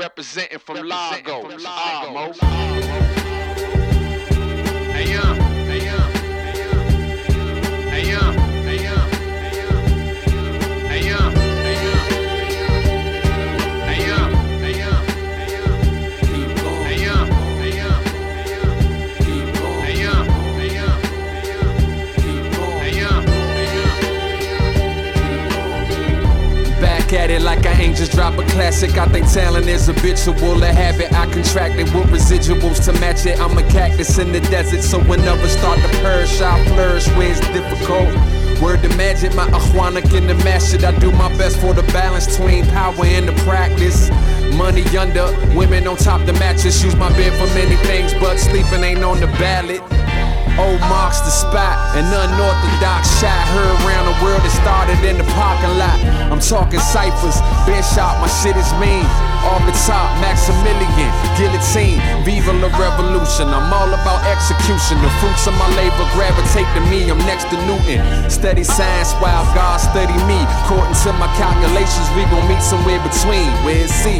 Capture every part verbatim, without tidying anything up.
Representing from Largo, Armo. Hey, young, hey, young, hey, young, hey, young, hey, young, hey, young, hey, young, hey, young, hey, young, keep going, hey, young, hey, young, keep going, hey, young, hey, young, keep going, hey, young, hey, young. Back at it like I ain't just drop a classic. I think talent is habitual, a habit I contracted with residuals to match it. I'm a cactus in the desert, so whenever start to purge, I flourish where it's difficult. Word to magic, my Ahwanik in the mash it. I do my best for the balance between power and the practice. Money under, women on top the mattress. Use my bed for many things, but sleeping ain't on the ballot. Old marks the spot, an unorthodox shot heard around the world. It started in the parking lot. I'm talking ciphers, been shot, my shit is mean. Off the top, Maximilian, guillotine, viva la revolution. I'm all about execution. The fruits of my labor gravitate to me. I'm next to Newton. Study science while God study me. According to my calculations, we gon' meet somewhere between. Where's C?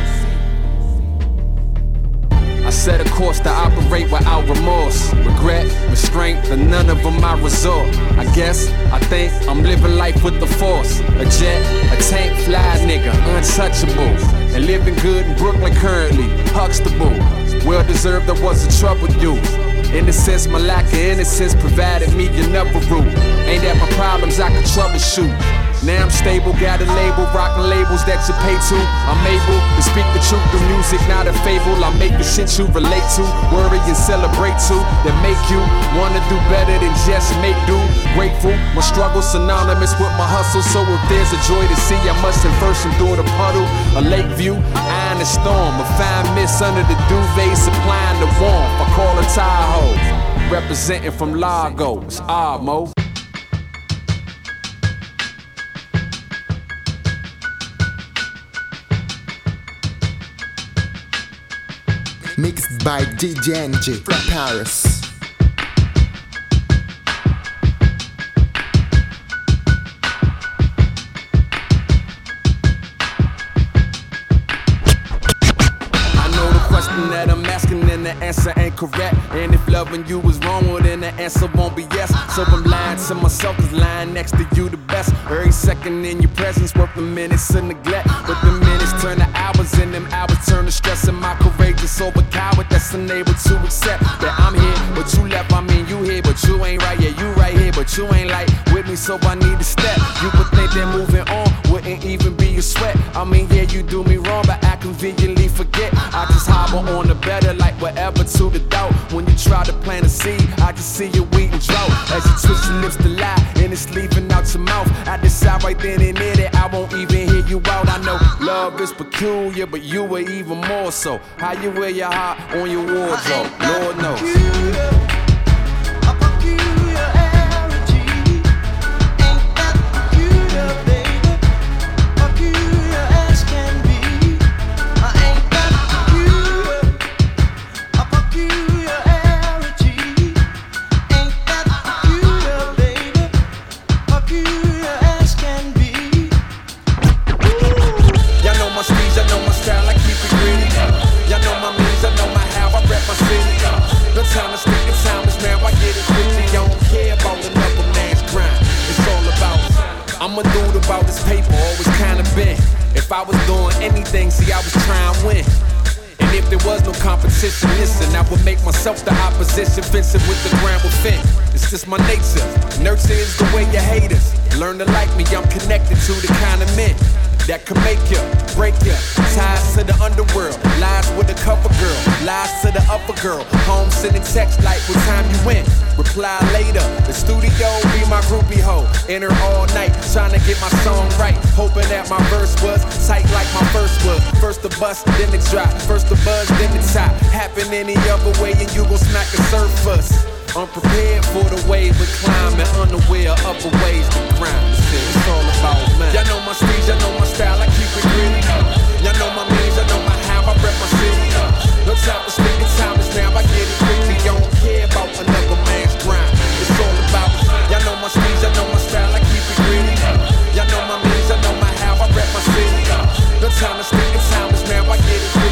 I set a course to operate without remorse, regret, restraint, and none of them I resort. I guess, I think, I'm living life with the force. A jet, a tank, fly nigga, untouchable. And living good in Brooklyn currently, Huxtable. Well deserved, I was a troubled youth. Innocence, my lack of innocence provided me another route. Ain't that my problems I can troubleshoot. Now I'm stable, got a label, rockin' labels that you pay to. I'm able to speak the truth through music, not a fable. I make the shit you relate to, worry and celebrate to, that make you wanna do better than just make do. Grateful, my struggle synonymous with my hustle. So if there's a joy to see, I must first endure the puddle. A lake view, eye in the storm, a fine mist under the duvet supplying the warmth. I call her Tahoe, representing from Largo, it's Armo. Mixed by D J N G from Paris. That I'm asking and the answer ain't correct. And if loving you was wrong, well then the answer won't be yes. So I'm lying to myself, cause lying next to you the best. Every second in your presence worth the minutes of neglect. But the minutes turn to hours and them hours turn to stress. And my courageous over coward that's unable to accept that I'm here, but you left. I mean you here, but you ain't right. Yeah, you right here, but you ain't like with me, so I need to step. You would think that moving on wouldn't even be a sweat. I mean yeah, you do me wrong, but I conveniently forget. I just hobble on the better, like whatever to the doubt. When you try to plant a seed, I can see your wheat and drought. As you twist your lips to lie, and it's leaving out your mouth. I decide right then and there that I won't even hear you out. I know love is peculiar, but you were even more so. How you wear your heart on your wardrobe, Lord knows. I'm a dude about this paper, always kinda been. If I was doing anything, see I was trying to win. And if there was no competition, listen, I would make myself the opposition, fencing with the ground within. It's just my nature. Nurture is the way you haters learn to like me. I'm connected to the kind of men that can make you, break you. Ties to the underworld, lies with the cover girl, lies to the upper girl. Home sending text like what time you went. Reply later, the studio be my groupie hoe. In her all night, trying to get my song right. Hoping that my verse was tight like my first was. First the bust, then the drop. First the buzz, then the top. Happen any other way and you gon' smack a surface. Unprepared for the wave, but climbing unaware of upper ways to grind. It's all about man. Y'all know my speed, y'all know my style, I keep it gritty. Y'all know my means, y'all know my how, I rep my city. No time to speak, the time is now, I get it quickly. Y'all don't care about another man's grind. It's all about y'all know my speed, y'all know my style, I keep it gritty. Y'all know my means, y'all know my how, I rep my city. No time to speak, the time is now, I get it quickly.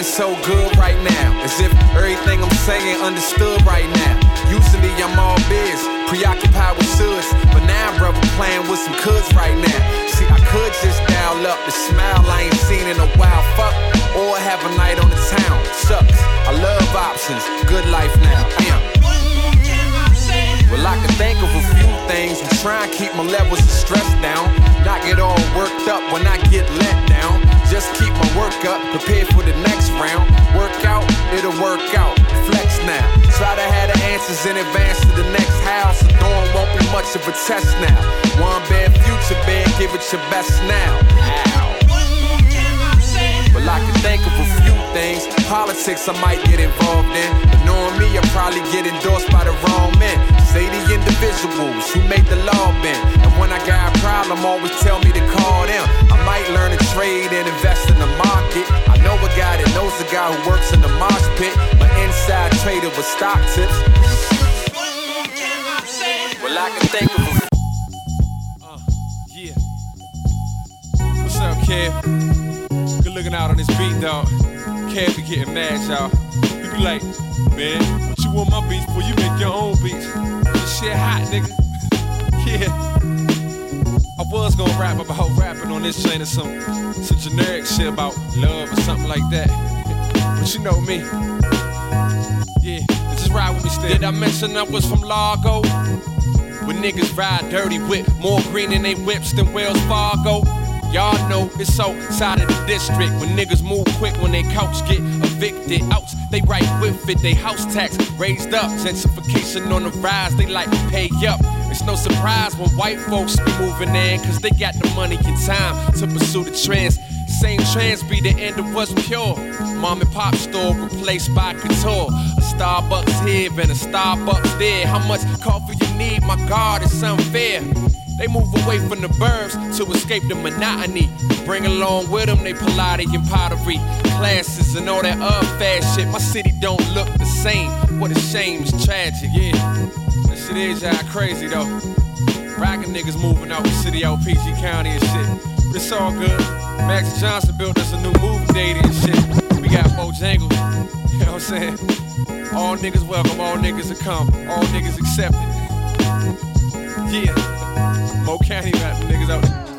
feeling so good right now, as if everything I'm saying understood right now. Usually I'm all biz, preoccupied with shoulds, but now brother playing with some coulds right now. See, I could just dial up the smile I ain't seen in a while, fuck, or have a night on the town. Sucks, I love options, good life now. Damn. Well, I can think of a few things and try and keep my levels of stress down. Not get all worked up when I get let down. Just keep my work up, prepare for the next round. Work out, it'll work out. Flex now. Try to have the answers in advance to the next house. The dawn won't be much of a test now. One bad future, bad, give it your best now. Ow. Well, I can think of a few things. Politics I might get involved in, but knowing me, I'll probably get endorsed by the wrong men. Say the individuals who make the law bend. And when I got a problem, always tell me to call them. I might learn to trade and invest in the market. I know a guy that knows a guy who works in the mosh pit. My inside trader with stock tips. Well, I can think of a uh, yeah. What's up, Kev? Good looking out on this beat, dog. Kev be getting mad, y'all. He be like, man, what you want my beats for? You make your own beats. This shit hot, nigga. Yeah. I was gonna rap about rapping on this chain or some, some generic shit about love or something like that. But you know me. Yeah, just ride with me still. Did I mention I was from Largo? When niggas ride dirty with more green in they whips than Wells Fargo. Y'all know it's outside of the district. When niggas move quick, when they couch get evicted. Outs, they right with it, they house tax raised up. Gentrification on the rise, they like pay up. It's no surprise when white folks be moving in, cause they got the money and time to pursue the trends. Same trends be the end of what's pure. Mom and pop store replaced by couture. A Starbucks here and a Starbucks there. How much coffee you need, my God, it's unfair. They move away from the burbs to escape the monotony. Bring along with them they Pilates and pottery classes and all that other fast shit. My city don't look the same. What a shame, it's tragic. Yeah, that shit is y'all crazy though. Rockin' niggas moving out the city out P G County and shit. But it's all good. Max Johnson built us a new movie theater and shit. We got Bojangles, you know what I'm saying? All niggas welcome, all niggas are come, all niggas accepted. Yeah. Mo County got the niggas out there.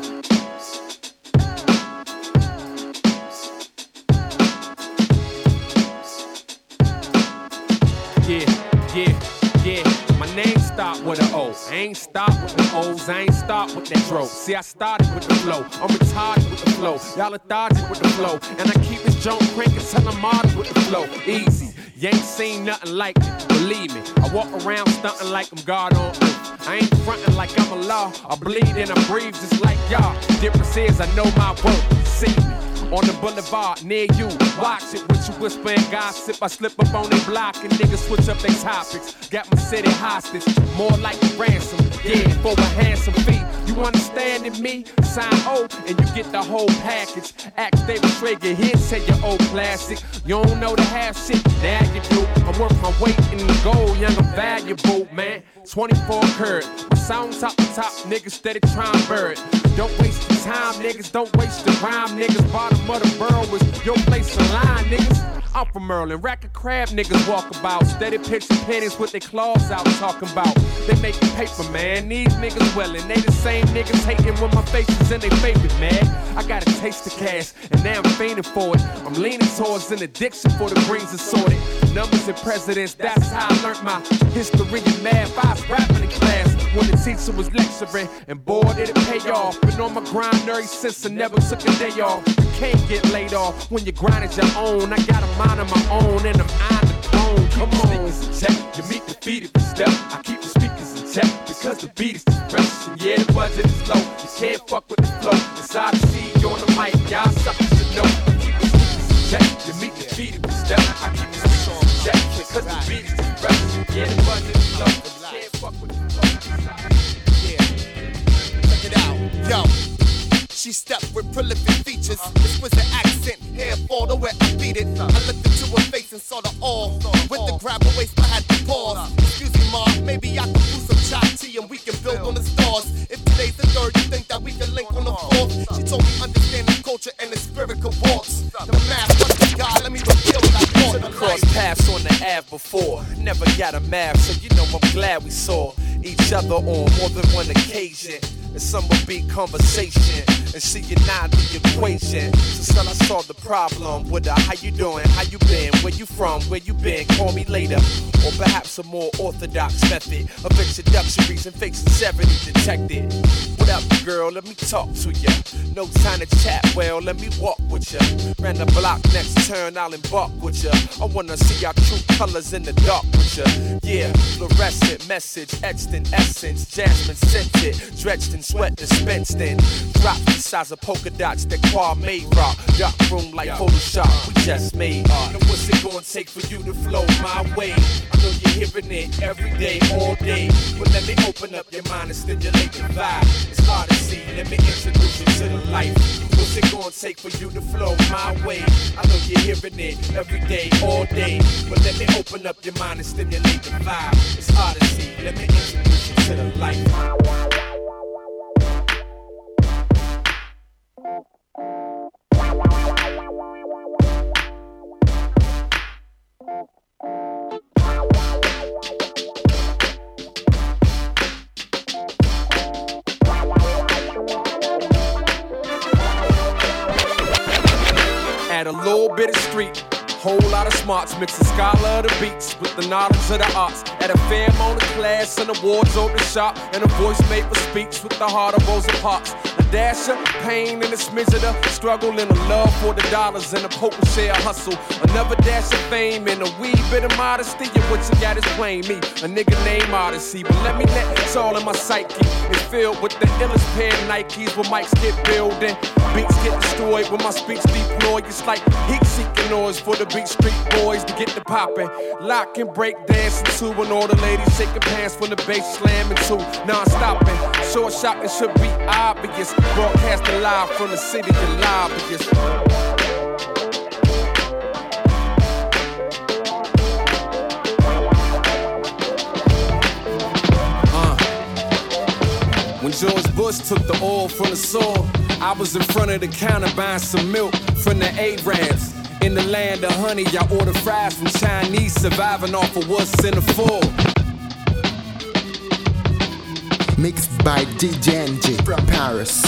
Yeah, yeah, yeah. My name start with an O. I ain't start with the O's, I ain't start with that dro. See, I started with the flow. I'm retarded with the flow. Y'all lethargic with the flow. And I keep this joint cranking till I'm modern with the flow. Easy. You ain't seen nothing like it, believe me. I walk around stunting like I'm God on earth. I ain't fronting like I'm a law. I bleed and I breathe just like y'all. Difference is I know my worth. See me on the boulevard near you. Watch it with you whisper and gossip. I slip up on their block and niggas switch up their topics. Got my city hostage, more like a ransom. Yeah, for a handsome fee. You understanding me? Sign O and you get the whole package. Ask David Traeger, he'll tell you old classic. You don't know the half shit, now you do. I'm worth my weight in the gold, young and valuable, man. twenty-four karat, my sound top to top, niggas steady trying to bird. Don't waste your time, niggas, don't waste your rhyme, niggas. Bottom of the borough is your place in line, niggas. I'm from Merlin, rack of crab niggas walk about. Steady pitching pennies with their claws out talking about. They making paper, man, these niggas wellin'. They the same niggas hating when my face is in their favorite, man. I got a taste of cash, and now I'm fiending for it. I'm leaning towards an addiction for the greens assorted. Numbers and presidents, that's how I learned my history and math. I was rapping in class when the teacher was lecturing, and boy, did it pay off. Been on my grind ever since I never took a day off. You can't get laid off when your grind is your own. I got a mind of my own, and I'm on the throne. Come on, in check. You meet the beat if you step. I keep the speakers in check because the beat is fresh. And yeah, the budget is low. You can't fuck with the flow. Inside the seat, on the mic, y'all suckers should know. I keep the speakers in check. You meet the beat if you step. I keep the speakers in check because the beat is fresh. And yeah, the budget is low. You can't fuck with the flow. Yeah, check it out, yo. She stepped with prolific features. This was the accent, hair fall the way I beat it. I looked into her face and saw the all. With the grab her waist, I had to pause. Excuse me, ma, maybe I could do some chai tea and we can build on the stars. If today's the third, you think that we can link on the fourth? She told me understand the culture and the spirit of walks. The math, what the God, let me math, so you know I'm glad we saw each other on more than one occasion. And some would be conversation, and see you not the equation. So son, I solved the problem with a how you doing, how you been, where you from, where you been, call me later. Or perhaps a more orthodox method of introductories and fake sincerity detected. What up, girl? Let me talk to ya. No time to chat, well, let me walk with ya. Ran the block, next turn, I'll embark with ya. I wanna see our true colors in the dark with ya. Yeah, fluorescent message, etched in essence, jasmine scented, dredged in sweat dispensed in. Drops the size of polka dots that Kwame rock. Dark room like Photoshop, we just made art. Now what's it gonna take for you to flow my way? I know you're hearing it every day, all day. But let me open up your mind and stimulate the vibe. It's hard to see, let me introduce you to the life. What's it gonna take for you to flow my way? I know you're hearing it every day, all day. But let me open up your mind and stimulate the vibe. It's hard to see, let me introduce you to the life. Add a little bit of street, whole lot of smarts, mix the scholar of the beats with the knowledge of the arts. Add a fair amount of class and awards over the shop, and a voice made for speech with the heart of Rosa Parks. A dash of pain and a smidge of the struggle and a love for the dollars and a potent share hustle. Another dash of fame and a wee bit of modesty, and what you got is plain me, a nigga named Odyssey. But let me let it's all in my psyche. It's filled with the illest pair of Nikes where mics get building, beats get destroyed when my speech deployed. It's like heat-seeking noise for the beat street boys to get the poppin'. Lock and break dancing to and all the ladies shaking pants from the bass slamming to non-stopping. Short shopping should be obvious. Broadcasting live from the city of lobbyists. Uh. When George Bush took the oil from the soil, I was in front of the counter buying some milk from the Arabs. In the land of honey, I order fries from Chinese, surviving off of what's in the fall. Mixed by D J N J from Paris.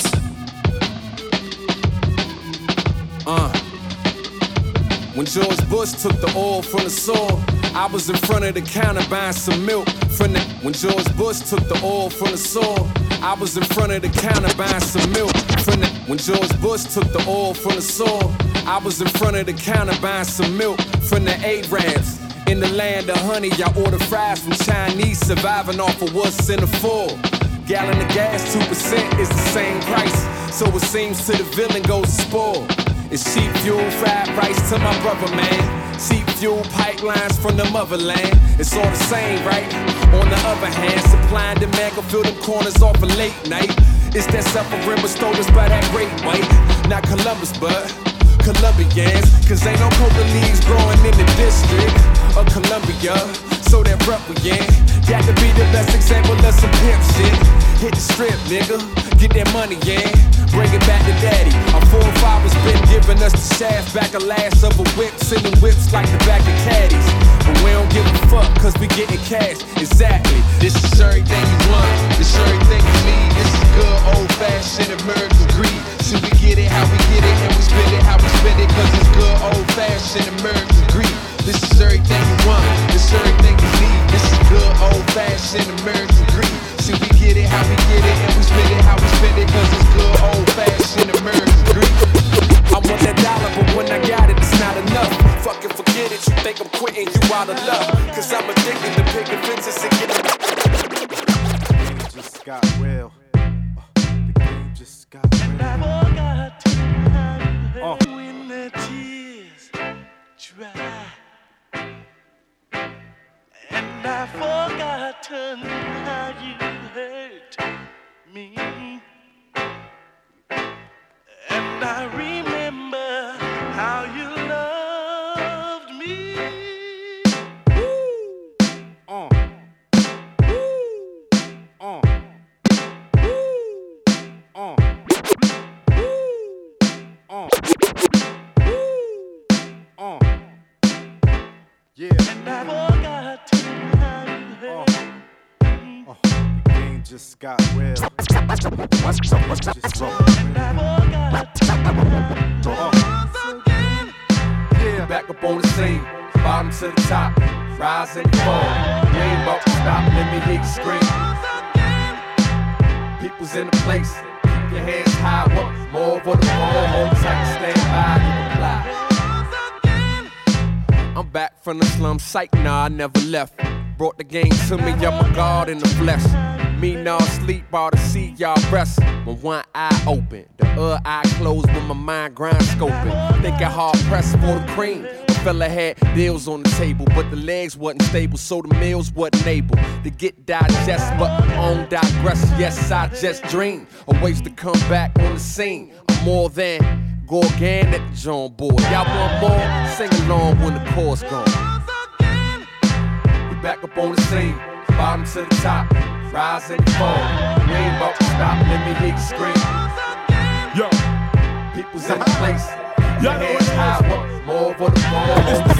Uh. When George Bush took the oil from the soil, I was in front of the counter buying some milk from the. When George Bush took the oil from the soil, I was in front of the counter buying some milk from the. When George Bush took the oil from the soil, I was in front of the counter buying some milk from the Arabs. In the land of honey, I order fries from Chinese, surviving off of what's in the fall. Gallon of gas, two percent is the same price, so it seems to the villain goes to spoil. It's cheap fuel, fried rice to my brother, man. Cheap fuel pipelines from the motherland. It's all the same, right? On the other hand, supply and demand can fill them corners off a late night. It's that suffering bestowed us by that great white. Not Columbus, but Colombians. Cause ain't no coca leaves growing in the district of Columbia. So that rep we in. Got to be the best example of some pimp shit. Hit the strip, nigga. Get that money in. Bring it back to daddy. Our forefathers been giving us the shaft, back a last of a whip, sending whips like the back of caddies. But we don't give a fuck, cause we getting cash. Exactly. This is everything you want. This is everything you need. This is good old fashioned American greed. See, we get it how we get it, and we spend it how we spend it, cause it's good old fashioned American greed. This is everything you want. This is everything you need. This is good old fashioned American greed. See, we get it how we get it, and we spend it how we spend it, cause it's good old fashioned American greed. I want that dollar, but when I got it, it's not enough. Fucking forget it, you think I'm quitting, you out of luck. Cause I'm addicted to picking fences and getting. The game just got real. Uh, the game just got real. I forgot how you when the tears dry. And I've forgotten how you hurt me. And I remember how you loved me. Woo. Uh. Woo. Uh. Woo. Uh. Woo. Uh. Woo. Uh. Yeah. And I forgot how you just got real. Just Yeah, back up on the scene, bottom to the top, rise and fall. You ain't about to stop, let me hear you scream. People's in the place, keep your hands high, what more for the ball, hold tight, stand by, you apply. I'm back from the slum, psych, nah, I never left. Brought the game to me, I'm a god in the flesh. Me nah sleep, all to see y'all rest. When one eye open, the other eye closed when my mind grind scoping. Thinking hard pressed for the cream. A fella had deals on the table, but the legs wasn't stable, so the meals wasn't able to get digest, but on digress. Yes, I just dream of ways to come back on the scene. I'm more than Gorgon at the John board. Y'all want more? Sing along when the chorus gone. We back up on the scene, bottom to the top, rise and fall. We ain't about to stop, let me hear you scream. Yo, people's in the place, your hands high, what more for the ball?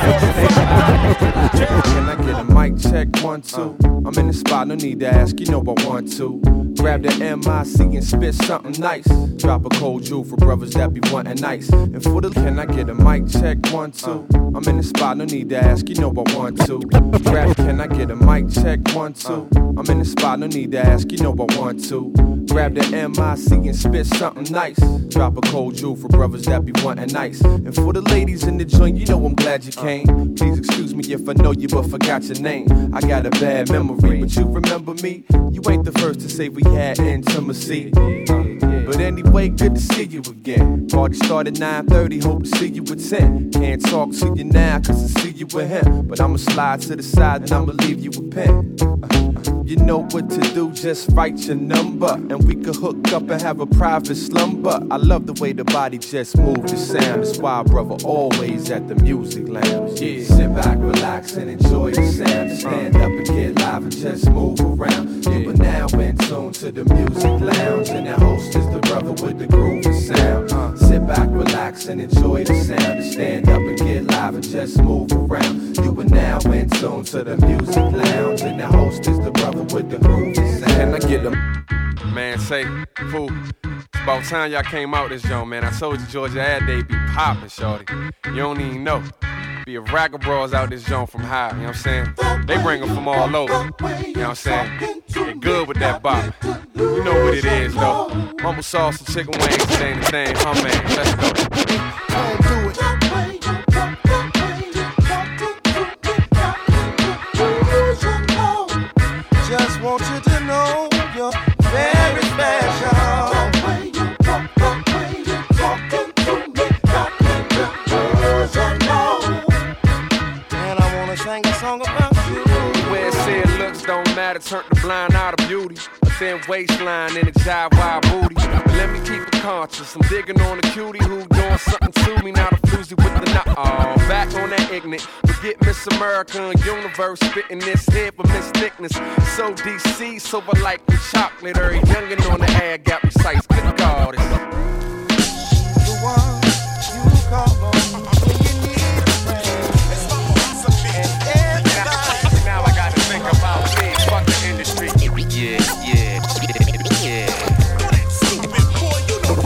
Can I get a mic check, one, two? I'm in the spot, no need to ask, you know I want to. Grab the M I C and spit something nice. Drop a cold jewel for brothers that be wanting nice. And for the, can I get a mic check, one, two? I'm in the spot, no need to ask, you know I want to. Grab, can I get a mic check, one, two? I'm in the spot, no need to ask, you know I want to. Grab the M I C and spit something nice. Drop a cold jewel for brothers that be wanting nice. And for the ladies in the joint, you know I'm glad you came. Please excuse me if I know you but forgot your name. I got a bad memory, but you remember me? You ain't the first to say we had intimacy. But anyway, good to see you again. Party started nine thirty, hope to see you at ten. Can't talk to you now cause I see you with him. But I'ma slide to the side and I'ma leave you a pen. You know what to do, just write your number. And we could hook up and have a private slumber. I love the way the body just moves the sound. That's why brother always at the music lounge. Yeah, sit back, relax and enjoy the sound. Stand up and get live and just move around. You are now in tune to the music lounge. And the host is the brother with the groovy sound. Sit back, relax and enjoy the sound. Stand up and get live and just move around. You are now in tune to the music lounge. And the host is the brother with the groovy sound. Can I get them? Man, say, fool, it's about time y'all came out this joint, man. I told you Georgia Ad Day be poppin', shorty. You don't even know. Be a rack of bras out this joint from high, you know what I'm saying? They bring them from all over, you know what I'm saying? They good with that bop. You know what it is, though. Mumble sauce and chicken wings, it ain't the thing, huh, man? Let's go. Don't do it. Just want you to know you're very special. And I wanna sing a song about you. Where it said looks don't matter, turn the blind eye to beauty. A thin waistline and a jive wide booty. But let me keep it conscious. I'm digging on a cutie who doing something to me. Now the floozy with the knot. Oh, back on that ignorant. Forget Miss America and Universe. Spitting this head for Miss Thickness. So D C, sober like the chocolate. Every youngin' on the ad got precise. Good God, it's The one you call on when you need a friend. It's my philosophy. And everybody. now I gotta think about me. Fuck the industry. Yeah, yeah, yeah, yeah. Stupid boy, you know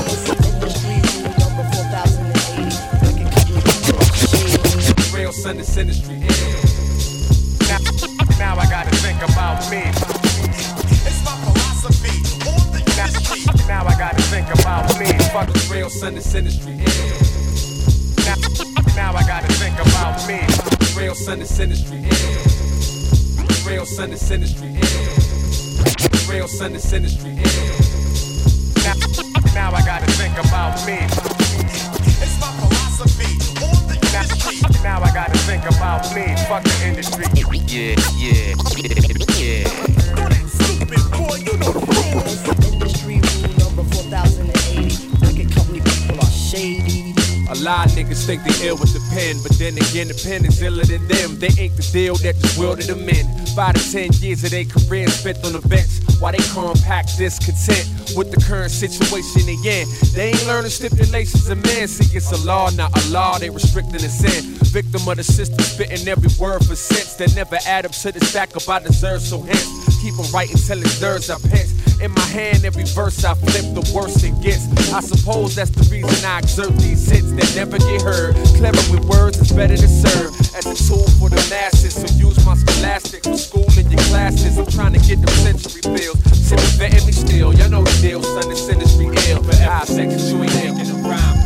Real son this industry. Now, now I gotta think about me. it's my philosophy. On the industry. Now I gotta think about me. Fuck the real son this industry. Now, now I gotta think about me. Real son this industry. Real son this industry. Real son this industry. Now, now I gotta think about me. It's my philosophy. On the industry. Now I gotta think about me. Fuck the industry. Yeah, yeah, yeah, yeah. Stupid boy, you know Industry rule number four thousand eighty. Wicked company people are shady. A lot of niggas think they ill with the pen, but then again, the pen is iller than them. They ain't the deal that just wielded them in. Five to ten years of their career spent on the bench, while they compact discontent with the current situation they in. They ain't learning stipulations of men. See, it's a law, not a law. They restricting the sin. Victim of the system, spitting every word for sense that never add up to the stack up I deserve. So hence, keep on writing till it's thirds I pinch. In my hand, every verse I flip, the worse it gets. I suppose that's the reason I exert these hits that never get heard. Clever with words is better to serve as a tool for the masses. So use my scholastics for school in your classes. I'm trying to get them century bills. Shit is vetting me still. Y'all know the deal, son. This industry ill. But I seconds you ain't ill. Get a rhyme.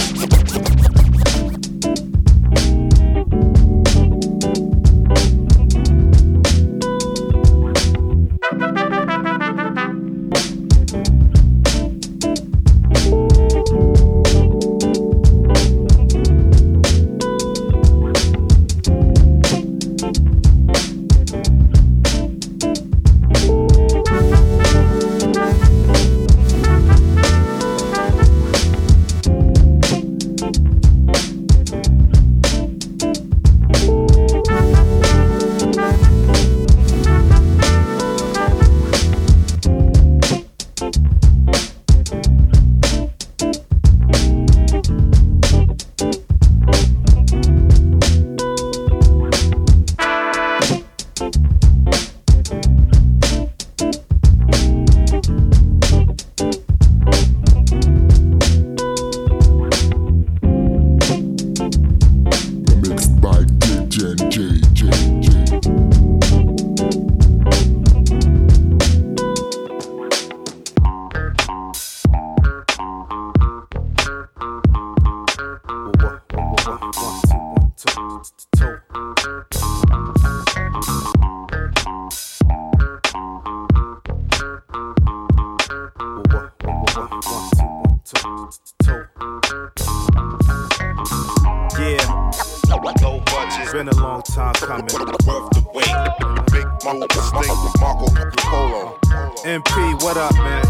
Been a long time coming. Worth the wait. Big Marco Stink, Marco Polo. M P, what up, man?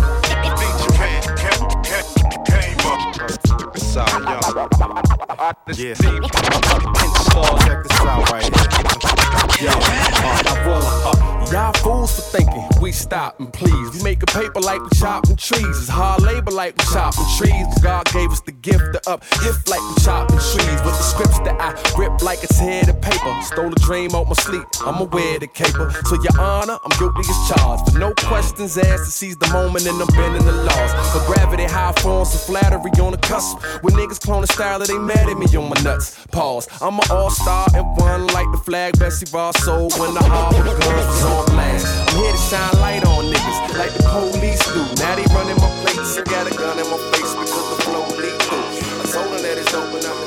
Yeah. Check this out right here. Yo, uh, y'all fools for thinking we stopping, please. We making paper like we chopping trees. It's hard labor like we chopping trees. God gave us the gift to up gift like we chopping trees. With the scripts that I rip like it's head of paper. Stole a dream out my sleep, I'ma wear the caper. So your honor, I'm guilty as charged. But no questions asked to seize the moment and I'm bending the laws. For gravity, high forms of flattery on the cusp. When niggas clone the style that they mad at me on my nuts. Pause, I'm an all-star and one like the flag Bessie Ross sold when the harbor guns was on blast. I'm here to shine light on niggas like the police do. Now they running my plates and got a gun in my face because the flow lead through. I told them that it's open up.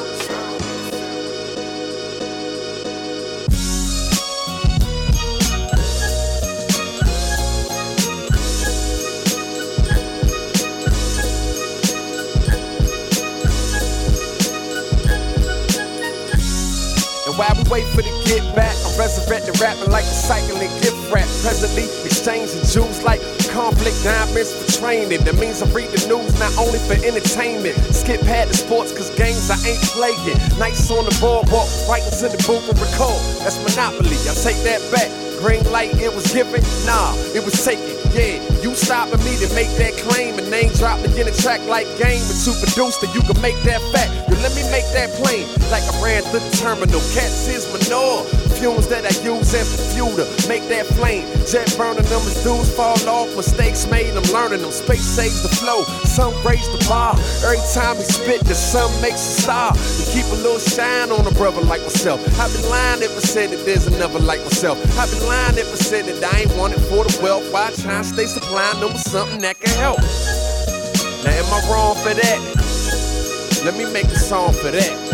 While we wait for the get back, I'm resurrected rapping like a cycling gift wrap. Presently exchanging jewels like conflict diamonds for training. That means I read the news not only for entertainment. Skip past the sports cause games I ain't playing. Nights on the boardwalk, writings in the booth and record. That's monopoly, I take that back. Green light, it was given, nah, it was taken. Yeah, you stopping me to make that claim. And name drop me in a track like game. And to produce that you can make that fact. Yo, let me make that plain. Like I ran through the terminal. Cats is manure. Fumes that I use as fuel to make that flame. Jet burning them as dudes fall off. Mistakes made, I'm learning them. Space saves the flow. Sun raised the bar. Every time he spit, the sun makes a star. To keep a little shine on a brother like myself. I've been lying if I said that there's another like myself. I've been lying if I said that I ain't want it for the wealth. Why try and stay supplying them with something that can help? Now am I wrong for that? Let me make a song for that.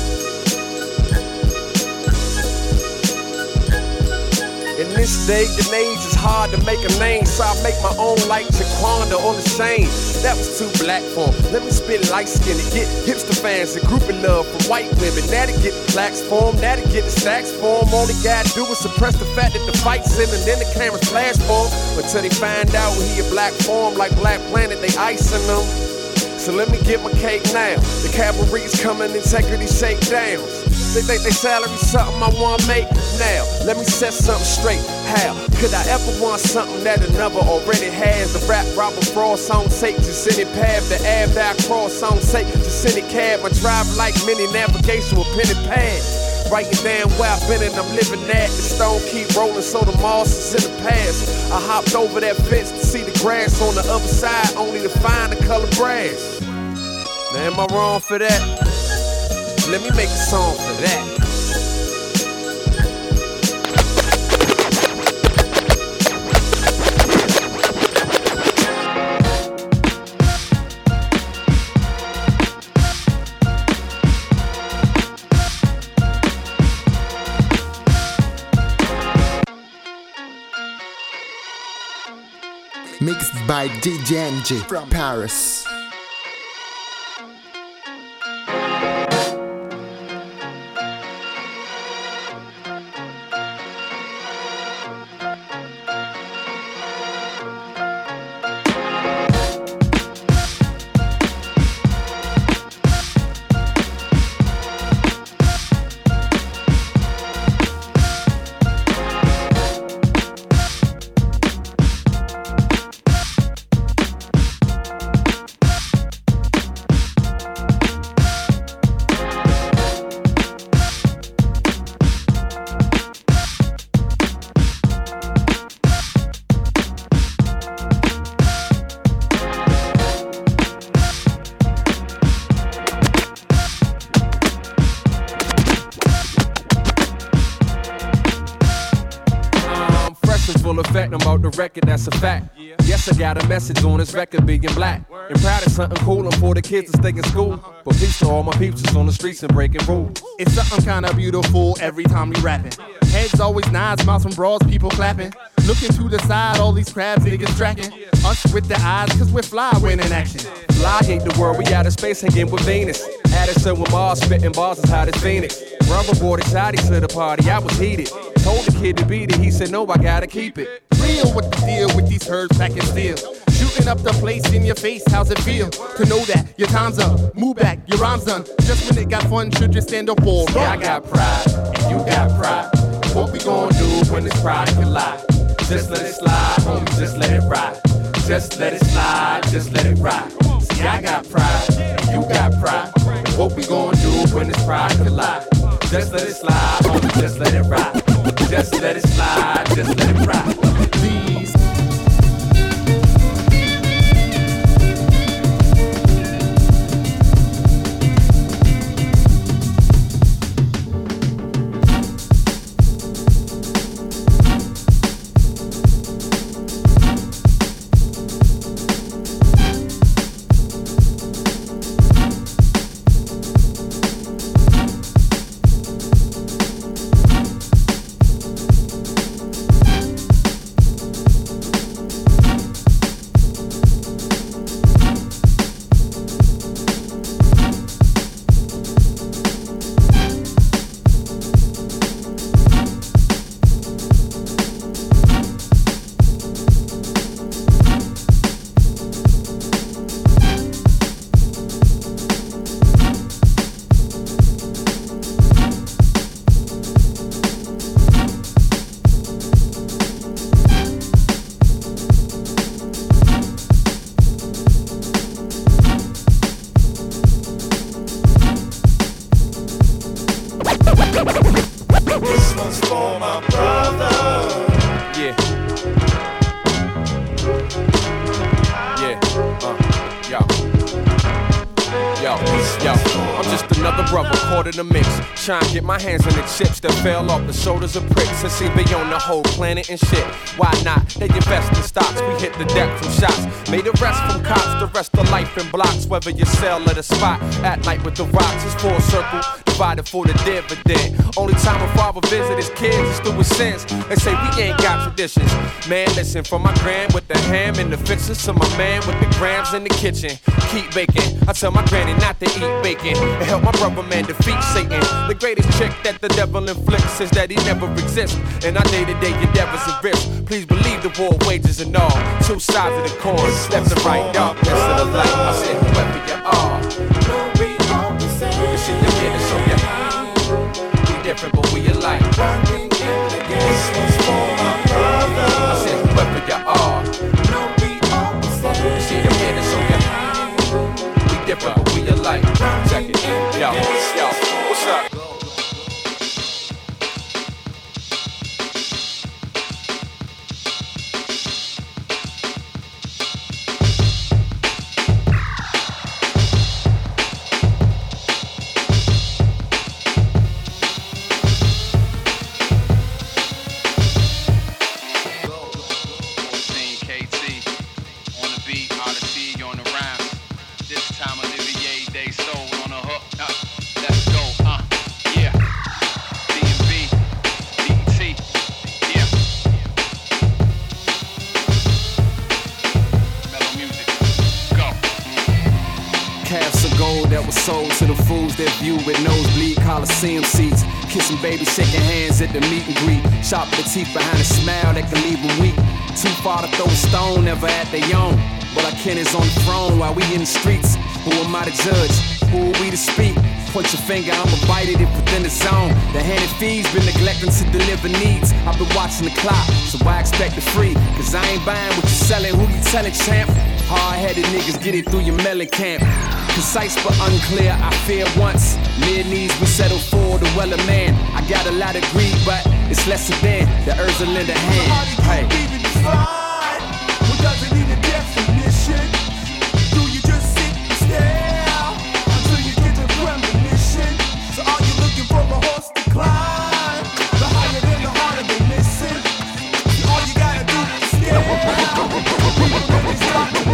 In this day and age, it's hard to make a name, so I make my own like Jaquanda on the Shane. That was too black for him. Let me spit light skin and get hipster fans and groupie love from white women. Now to get the plaques for him, now to get the stacks for him. All they gotta do is suppress the fact that the fight's in and then the cameras flash for him. Until they find out he a black form like Black Planet, they icing them. So let me get my cake now. The cavalry's coming, integrity shakedowns. They think they salary something I wanna make now. Let me set something straight. How could I ever want something that another already has? The rap robber fraud song take just any path. The ave I cross song take just any cab. I drive like mini navigation with pen and pad. Writing down where I've been and I'm living at. The stone keep rolling, so the moss is in the past. I hopped over that fence to see the grass on the other side, only to find the color brass. Now am I wrong for that? Let me make a song for that. Mixed by D J N G from Paris. Full effect, I'm out the record, that's a fact. Yes, I got a message on this record being black. And proud of something cool, I'm for the kids to stay in school. But peace to all my peeps that's on the streets and breaking rules. It's something kinda beautiful every time we rapping. Heads always nods, smiles from bras, people clapping. Looking to the side, all these crabs niggas tracking. Us with the eyes, cause we're fly when in action. Fly ain't the world, we out of space hanging with Venus. Addison with Mars, spitting bars as hot as Phoenix. Brother brought excited to the party, I was heated. Told the kid to beat it, he said no, I gotta keep it. Real what the deal with these herbs packing steel. Shooting up the place in your face, how's it feel? To know that your time's up, move back, your rhyme's done. Just when it got fun, should you stand up for? Yeah, I got pride, and you got pride. What we gonna do when this pride collide? Just let it slide, homie, just let it ride. Just let it slide, just let it ride. See, I got pride, and you got pride. What we gonna do when this pride collide? Just let it slide, homie, just let it ride. Just let it slide, just let it ride. Please. This one's for my brother. Yeah. Yeah. Uh. Yo. Yo. Yo. I'm just another brother caught in the mix. Trying to get my hands on the chips that fell off the shoulders of pricks. And see beyond the whole planet and shit. Why not? They invest in stocks. We hit the deck from shots. Made the rest from cops. The rest of life in blocks. Whether you sell at a spot. At night with the rocks. It's full circle. Divided for the dividend. Only time a father visit his kids is through his sins. They say we ain't got traditions. Man, listen, from my grand with the ham and the fixers to my man with the grams in the kitchen. Keep baking. I tell my granny not to eat bacon. And help my brother man defeat Satan. The greatest trick that the devil inflicts is that he never exists. And our day-to-day endeavors and risks. Please believe the war wages and all. Two sides of the coin, left and right, darkness to the light. I said whoever you are. You see the kid, so yeah. We different, but we alike. This one's for my brother. I said whoever you are. You see the kid, so yeah. We different, but we alike. Check it. Yo, yo, what's up? that was sold to the fools that view with nosebleed Coliseum seats. Kissing babies, shaking hands at the meet and greet. Sharp the teeth behind a smile that can leave them weak. Too far to throw a stone, never at their own. But our kin is on the throne while we in the streets. Who am I to judge? Who are we to speak? Point your finger, I'ma bite it if within the zone. The hand it feeds been neglecting to deliver needs. I've been watching the clock, so I expect it free. Cause I ain't buying what you selling, who you telling, champ? Hard-headed niggas get it through your melon camp. Concise but unclear, I fear once. Mere needs we settle for the well of man. I got a lot of greed, but it's lesser than the urge to lend a hand. Hey. What doesn't need a definition? Do you just sit and stare until you get the premonition? So are you looking for a horse to climb? The higher than the harder they listen. All you gotta do is stare. When they stop to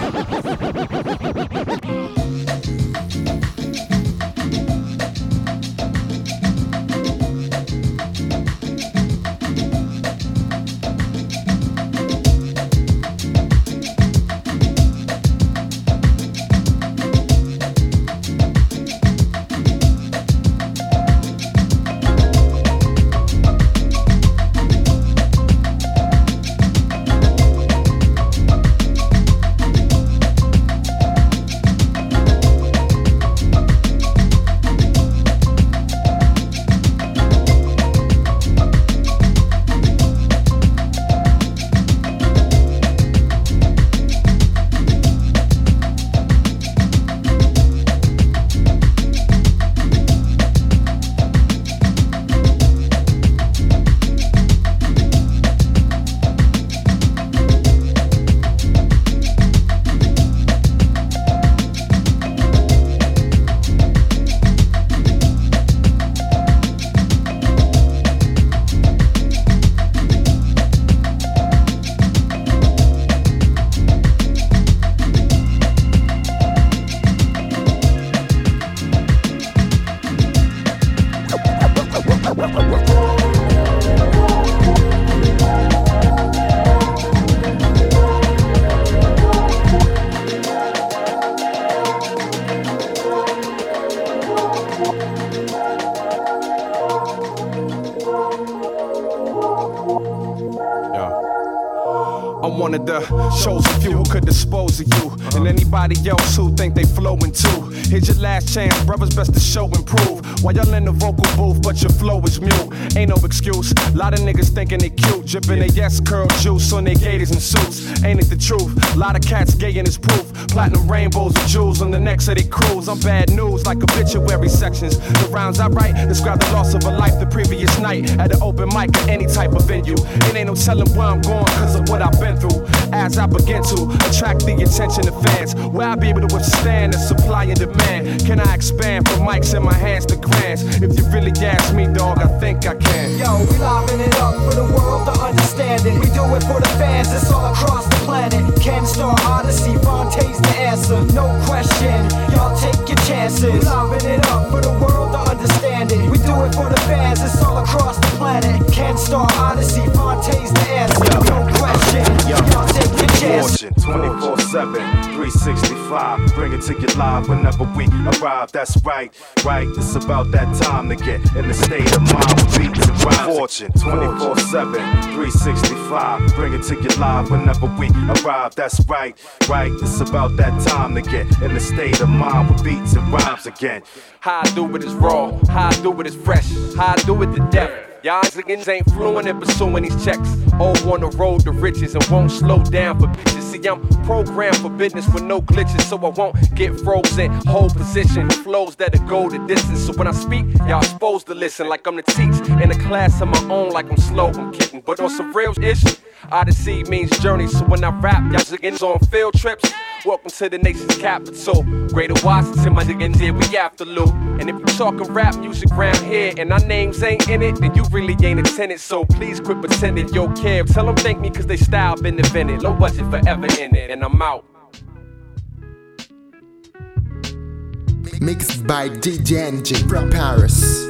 one of the chosen few who could dispose of you, and anybody else who think they flowing too. Here's your last chance, brothers, best to show and prove. While y'all in the vocal booth, but your flow is mute. Ain't no excuse. Lot of niggas thinking they cute, dripping they yes curl juice on their gators and suits. Ain't it the truth? Lot of cats gay in his proof. Platinum rainbows with jewels on the necks of their crews. I'm bad news like obituary sections. The rounds I write describe the loss of a life the previous night at an open mic or any type of venue. It ain't no telling where I'm going cause of what I've been through. As I begin to attract the attention of fans, will I be able to withstand the supply and demand? Can I expand from mics in my hands to grands? If you really ask me, dog, I think I can. Yo, we liven it up for the world to understand it. We do it for the fans, it's all across the planet. Ken Star Odyssey, Fontane's the answer, no question. Y'all take your chances. We liven it up for the world to understand it. We do it for the fans, it's all across the planet. Ken Star Odyssey, Fontane's the answer, no question. Y'all take your chances. twenty-four seven, three sixty-five. Bring it to you live whenever we arrive. That's right, right. It's about that time to get in the state of mind with beats and rhymes. Fortune, twenty-four seven, three sixty-five. Bring it to you live whenever we arrive. That's right, right. It's about that time to get in the state of mind with beats and rhymes again. How I do it is raw, how I do it is fresh, how I do it to death. Y'all niggas ain't fluent in pursuing these checks. All on the road to riches and won't slow down for bitches. See, I'm programmed for business with no glitches, so I won't get frozen. Hold position, flows that'll go the distance. So when I speak, y'all supposed to listen like I'm the teach in a class of my own, like I'm slow, I'm kidding. But on some real issue, Odyssey means journey. So when I rap, y'all niggas on field trips. Welcome to the nation's capital, Greater Washington, my niggas here, we after Lou. And if you talking rap music round here and our names ain't in it, then you really ain't attended. So please quit pretending yo care. Tell them thank me cause they style been invented. Low budget forever in it, and I'm out. Mixed by D J N G from Paris.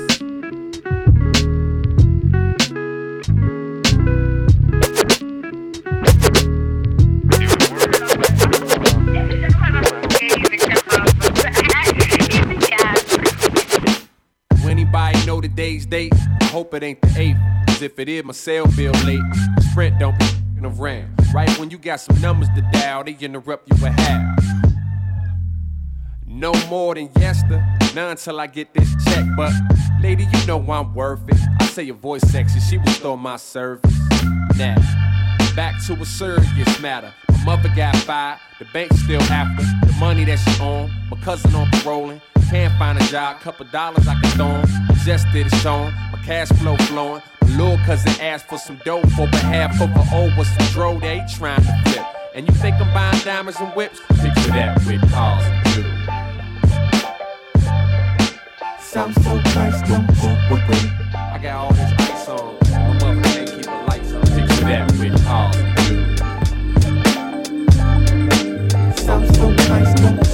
know today's date. I hope it ain't the eighth, cause if it is, my cell bill late. Sprint don't be f***ing around. Right when you got some numbers to dial, they interrupt you with half. No more than yester, none till I get this check. But lady, you know I'm worth it. I say your voice sexy, she will store my service. Now, back to a serious matter. My mother got fired, the bank still after the money that she on. My cousin on paroling, can't find a job, couple dollars I can throw him. Just did it showing, my cash flow flowing. My little cousin asked for some dough for behalf of an old with some dro they trying to flip. And you think I'm buying diamonds and whips? Picture that with cars and jewelry. Sounds so nice, don't go away. I got all this ice on, my mother can't keep the lights on. Picture that with cars and jewelry. Sounds so nice, don't go away.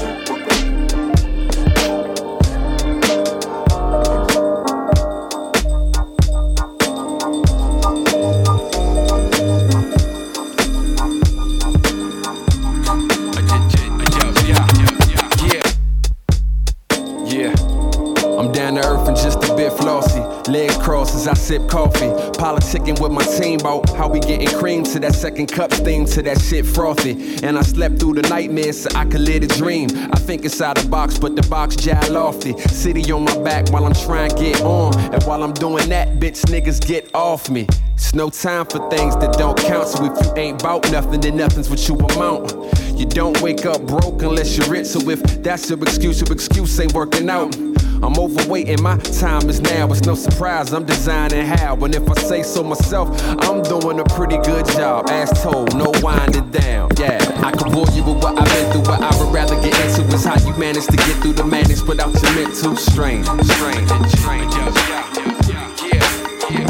Legs crossed as I sip coffee. Politicking with my team about how we getting cream to that second cup steam to that shit frothy. And I slept through the nightmares so I could live a dream. I think inside the box, but the box jive lofty. City on my back while I'm trying to get on. And while I'm doing that, bitch, niggas get off me. It's no time for things that don't count. So if you ain't bout nothing, then nothing's what you amount. You don't wake up broke unless you're rich. So if that's your excuse, your excuse ain't working out. I'm overweight and my time is now. It's no surprise I'm designing how. And if I say so myself, I'm doing a pretty good job. As told, no winding down. Yeah, I can bore you with what I've been through, but I would rather get into is how you manage to get through the madness without your mental strain. Strain, strain, yeah, yeah, yeah, yeah, yeah.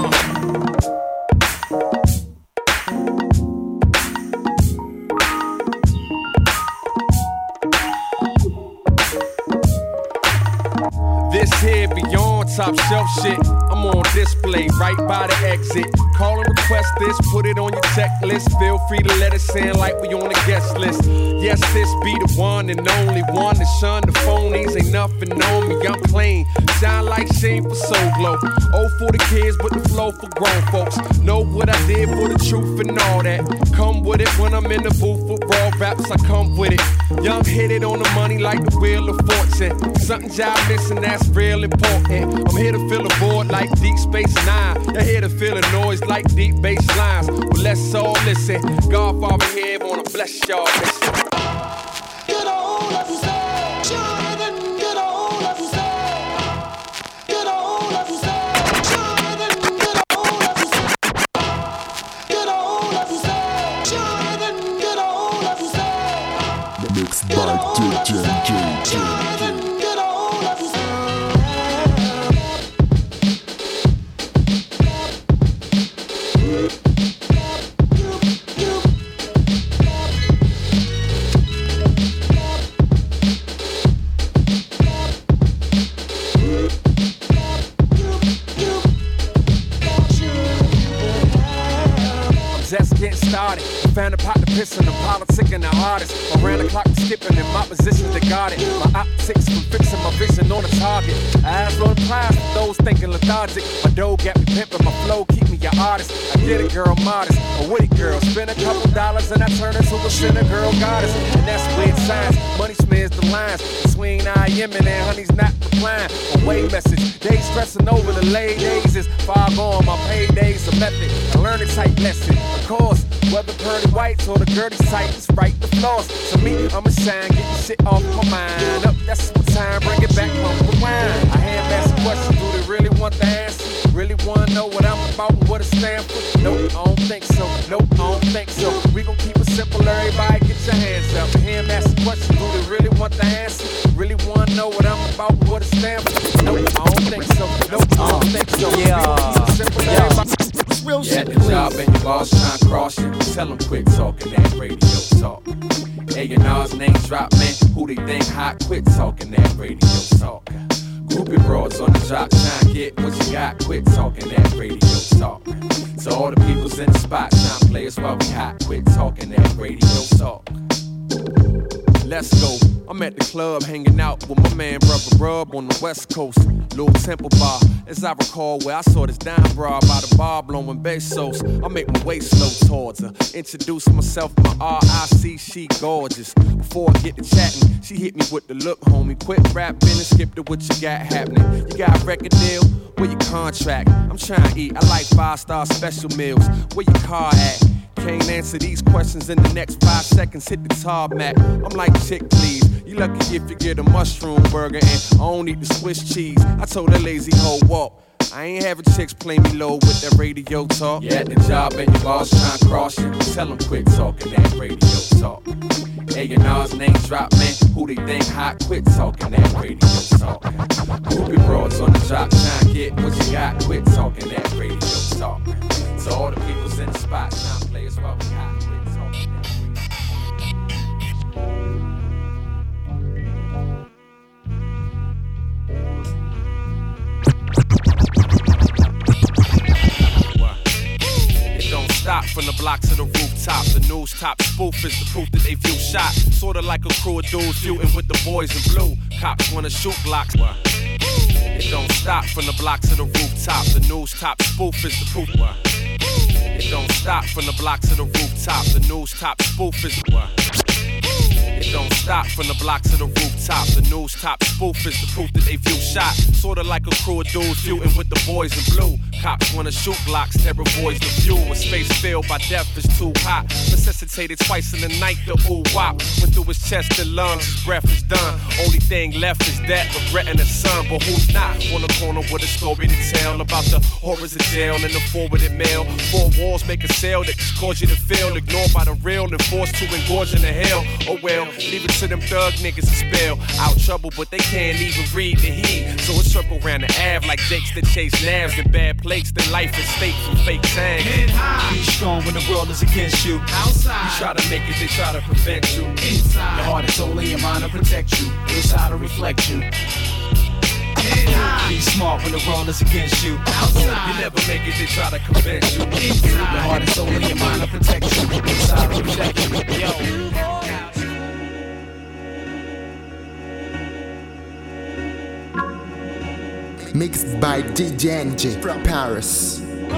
This here beyond top shelf shit. I'm on display right by the exit. Call and request this, put it on your checklist. Feel free to let us in like we on the guest list. Yes, this be the one and only one to shun the phonies. Ain't nothing on me, I'm clean. Shine like sheen for Soul Glow. Oh, for the kids, but the flow for grown folks. Know what I did for the truth and all that. Come with it when I'm in the booth with raw raps, I come with it. Young hit it on the money like the Wheel of Fortune. Something job missing, that's real important. I'm here to fill a void like Deep Space Nine. You're here to feel a noise like deep bass lines. Well, let's all listen. Godfather here wanna bless y'all. Listen. Get a hold of yourself, children. Get a hold of yourself. Get a hold of yourself, children. Get a hold of yourself. Get a hold of yourself, children. Get a hold of yourself. Mixed by D J J. Get a hold of yourself. Just getting started. Found a pot to piss in the politicking the hardest. Around the clock, I'm skipping in my position to guard it. My optics from fixing my vision on the target. Eyes on the prize for those thinking lethargic. My dough got me pimping, my flow keep me an artist. I get it, girl, modest. A witty girl, spend a couple dollars and I turn into a sinner girl goddess. And that's weird science. Money smears the lines between I am and honey's not replying. Away message. They stressing over the late days is far gone. My paydays a method. I learn a type lesson. Of course, whether pearly whites or the dirty sight, it's right the floors. So me, I'ma shine, get the shit off my mind. Up, that's what time, bring it back, from rewind. I have asked a question, do they really want the answer? Really wanna know what I'm about and what it stand for? Nope, I don't think so. Nope, I don't think so. We gon' keep it simple, everybody get your hands up. And hear him ask a question, do they really want the answer? Really wanna know what I'm about and what it stand for? Nope, I don't think so. Nope, I don't think so. Yeah. We gon' keep it simple, everybody. Real Yeah, shit, the job and your boss trying to cross you. Tell them quit talking that radio talk. A and R's name drop, man. Who they think hot? Quit talking that radio talk. Groupie broads on the job trying to get what you got. Quit talking that radio talk. So all the people's in the spot trying to play us while we hot. Quit talking that radio talk. Let's go. I'm at the club hanging out with my man Brother Rub on the West Coast. Little Temple Bar, as I recall, where I saw this dime bra by the bar blowing basos. I make my way slow towards her. Introduce myself, my R I C, she gorgeous. Before I get to chatting, she hit me with the look, homie. Quit rapping and skip to what you got happening. You got a record deal? Where your contract? I'm trying to eat. I like five-star special meals. Where your car at? Can't answer these questions in the next five seconds. Hit the tarmac. I'm like, chick, please. You lucky if you get a mushroom burger and I don't eat the Swiss cheese. I told that lazy hoe walk. I ain't having chicks play me low with that radio talk. You at the job and your boss trying to cross you. Tell them quit talking that radio talk. A and R's name drop, man. Who they think hot? Quit talking that radio talk. Groupie broads on the job trying to get what you got. Quit talking that radio talk. So all the people's in the spot trying to play us while we hot. Quit talking that stop from the blocks to the rooftop. The news top spoof is the proof that they view shot. Sorta like a crew of dudes feuding with the boys in blue. Cops wanna shoot blocks. It don't stop from the blocks to the rooftop. The news top spoof is the proof. It don't stop from the blocks to the rooftop. The news top spoof is the It don't stop from the blocks to the rooftop. The news top spoof is the proof that they view shot. Sorta like a crew of dudes feuding with the boys in blue. Cops wanna shoot blocks, terror boys the view. A space filled by death is too hot. Necessitated twice in the night, the ooh wop. Went through his chest and lungs, his breath is done. Only thing left is that, regretting the son. But who's not on the corner with a story to tell about the horrors of jail and the forwarded mail. Four walls make a sale that just cause you to feel ignored by the real and forced to engorge in the hell. Oh well, leave it to them thug niggas to spell out trouble, but they can't even read the heat. So it circle around the Ave like jakes that chase nabs in bad places. Then life is fake from fake sang. Get high. Be strong when the world is against you. Outside, you try to make it, they try to prevent you. Inside, your heart and soul and your mind to protect you. Inside to reflect you. Get high. Be smart when the world is against you. Outside, you never make it, they try to convince you. Inside, your heart and soul and your mind to protect you. Inside to protect you. Yo. Mixed by D J N J from Paris.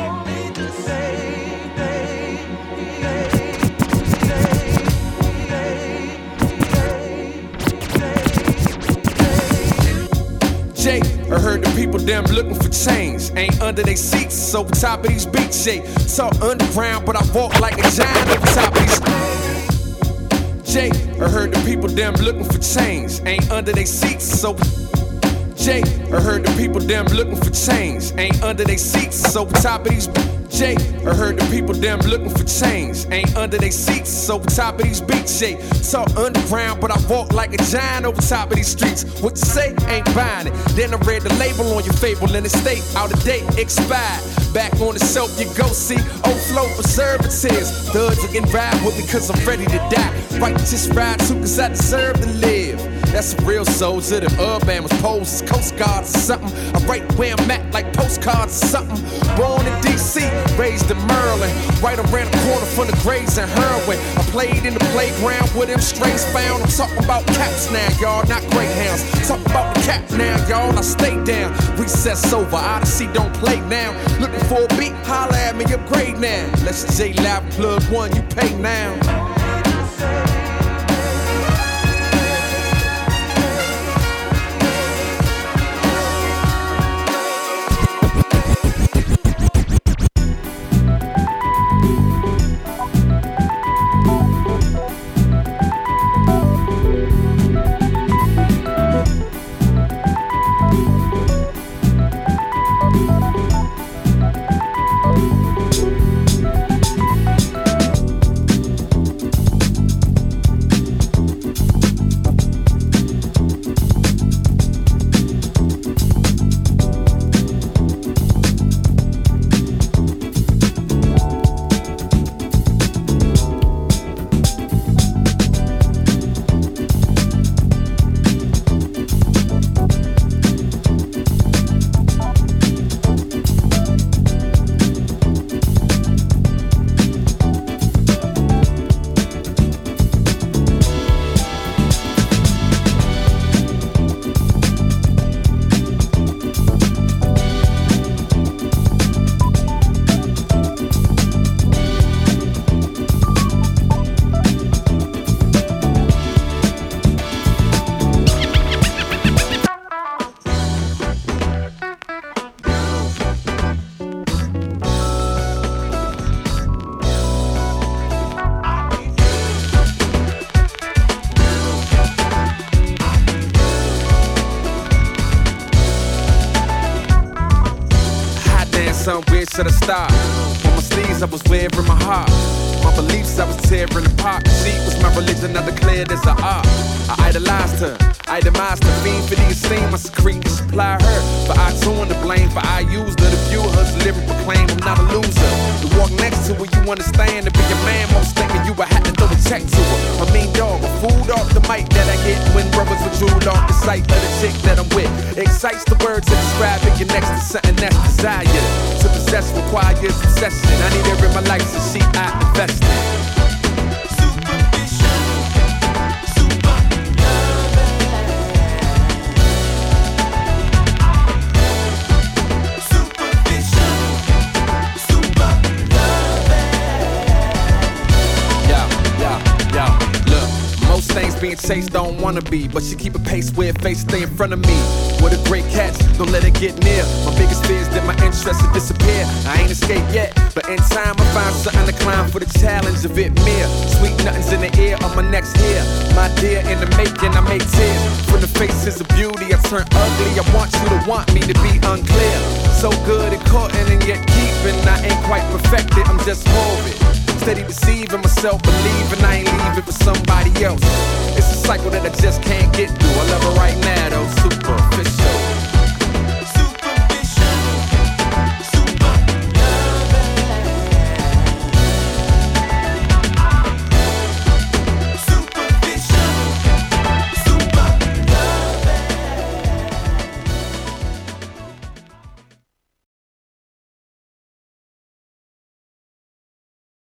Jay, I heard the people them looking for change. Ain't under they seats, so top of these beats, Jay. So underground, but I walk like a giant over top of these. Jay, I heard the people them looking for change. Ain't under they seats, so Jay, I heard the people them looking for change. Ain't under they seats, so top of these. Jay, I heard the people them looking for change. Ain't under they seats, so top of these beats. Jay, talk underground, but I walk like a giant over top of these streets. What you say? Ain't buying it. Then I read the label on your fable and it state out of date, expired. Back on the shelf, you go see old flow preservatives. Thugs are getting ride with me cause I'm ready to die. Righteous ride too cause I deserve to live. That's a real soldier, them urban was poses, Coast Guards or something. I write where I'm at like postcards or something. Born in D C, raised in Maryland. Right around the corner from the graves and heroin. I played in the playground with them strays found. I'm talking about caps now, y'all, not greyhounds. Talking about the cap now, y'all, I stay down. Recess over, Odyssey don't play now. Looking for a beat, holla at me, upgrade now. Let's J Live plug one, you pay now. son, where should I start? On my sleeves, I was wearing my heart. My beliefs, I was tearing apart. She was my religion, I declared as an art. I idolized her, itemized her, fiend for the esteem. I secrete and supply her. But I tune the blame, for I used her to view her lyric proclaim I'm not a loser. To walk next to her, you understand. To be a man, most thinking you, I had to throw a check to her. I mean, dog, a food off the mic that I get when brothers withdrew off the sight of the chick that I'm with. Excites the words to describe it. You're next to something that's desired. To possess requires obsession. I need her in my life, so she I invest in. Things being chased don't wanna be, but she keep a pace where her face stay in front of me. What a great catch, don't let it get near. My biggest fear is that my interest will disappear. I ain't escaped yet, but in time I find something to climb for the challenge of it mere. Sweet nothings in the air on my next hair. My dear, in the making I make tears. From the faces of beauty I turn ugly. I want you to want me to be unclear. So good at courting and yet keeping. I ain't quite perfected, I'm just morbid. Steady deceiving myself, believing I ain't leaving for somebody else. It's a cycle that I just can't get through. I love her right now though, super.